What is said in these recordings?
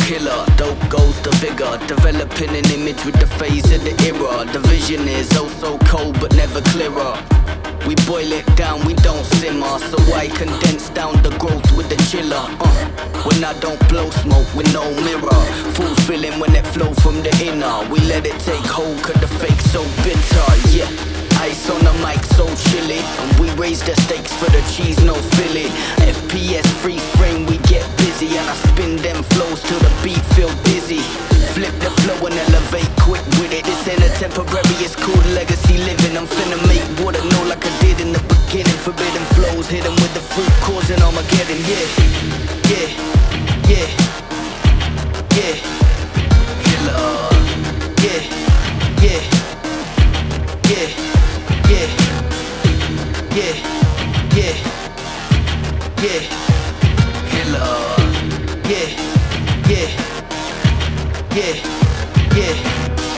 killer, dope goes the vigor, developing an image with the phase of the era. The vision is oh so cold but never clearer. We boil it down, we don't simmer, so I condense down the growth with the chiller. When I don't blow smoke with no mirror, fulfilling when it flow from the inner. We let it take hold cause the fake so bitter, yeah. Ice on the mic so chilly, and we raise the stakes for the cheese, no filling. FPS free frame, we get busy, and I spin them flows till the beat feel dizzy. Flip the flow and elevate quick with it. This ain't a temporary, it's called legacy living. I'm finna make water know like I did in the beginning. Forbidden flows, hit 'em with the fruit, causing Armageddon, yeah. Yeah, yeah, yeah. Killer, yeah, yeah, yeah, yeah, yeah, yeah, yeah. Killer, yeah, yeah, yeah, yeah.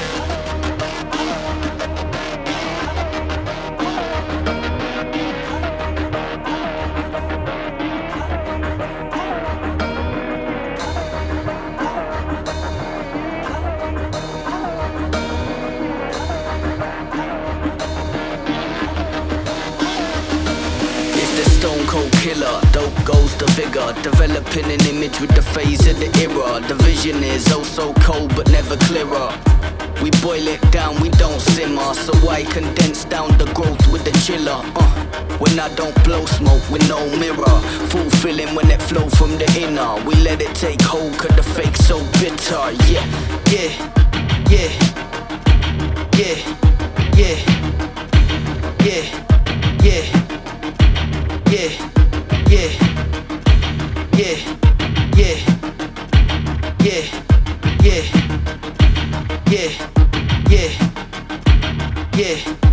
Stone cold killer, dope goes the vigor, developing an image with the phase of the era. The vision is oh so cold but never clearer. We boil it down, we don't simmer, so I condense down the growth with the chiller. When I don't blow smoke with no mirror, fulfilling when it flow from the inner. We let it take hold cause the fake so bitter, yeah, yeah, yeah, yeah, yeah, yeah, yeah. Yeah, yeah, yeah, yeah, yeah, yeah, yeah, yeah, yeah.